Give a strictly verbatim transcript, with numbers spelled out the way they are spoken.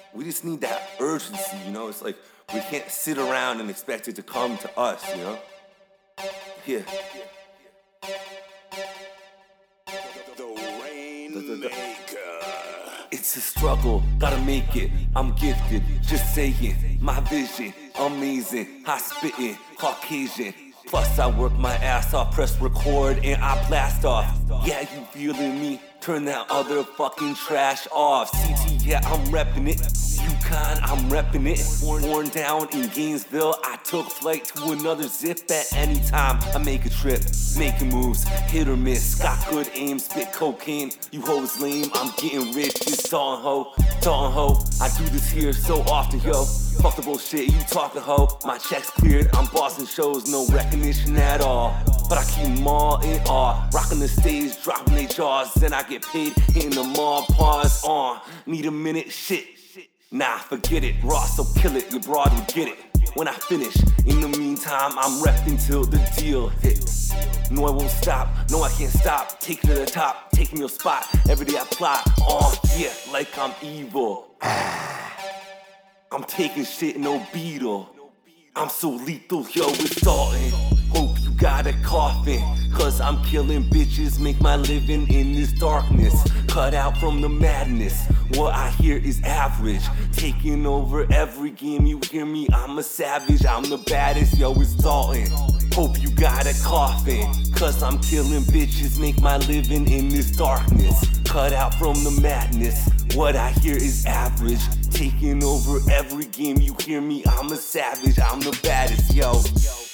We just need that urgency, you know? It's like we can't sit around and expect it to come to us, you know? Yeah. The Rainmaker. It's a struggle, gotta make it. I'm gifted, just saying. My vision, amazing. High spitting, Caucasian. Plus I work my ass off, press record and I blast off. Yeah, you feeling me? Turn that other fucking trash off. C T, yeah, I'm reppin' it. UConn, I'm reppin' it. Born, born down in Gainesville, I took flight to another zip at any time. I make a trip, making moves, hit or miss. Got good aim, spit cocaine. You hoes lame, I'm getting rich. It's Dalton Ho, Dalton Ho. I do this here so often, yo. Fuck the bullshit, you talking ho. My check's cleared, I'm bossing shows, no recognition at all. But I keep them all in awe. Rocking the stage, dropping they jaws. Then I get paid, hitting them all, pause on. Need a minute, shit. Nah, forget it, raw, so kill it, your broad would get it. When I finish, in the meantime, I'm repping till the deal hits. No, I won't stop, no, I can't stop. Taking to the top, taking your spot. Every day I plot, oh yeah, like I'm evil. I'm taking shit, no beetle. I'm so lethal, yo, it's Dalton. Hope you got a coffin, cause I'm killing bitches, make my living in this darkness. Cut out from the madness, what I hear is average. Taking over every game, you hear me, I'm a savage, I'm the baddest, yo, it's Dalton. Hope you got a coffin, cause I'm killing bitches, make my living in this darkness. Cut out from the madness, what I hear is average. Taking over every game, you hear me, I'm a savage, I'm the baddest, yo.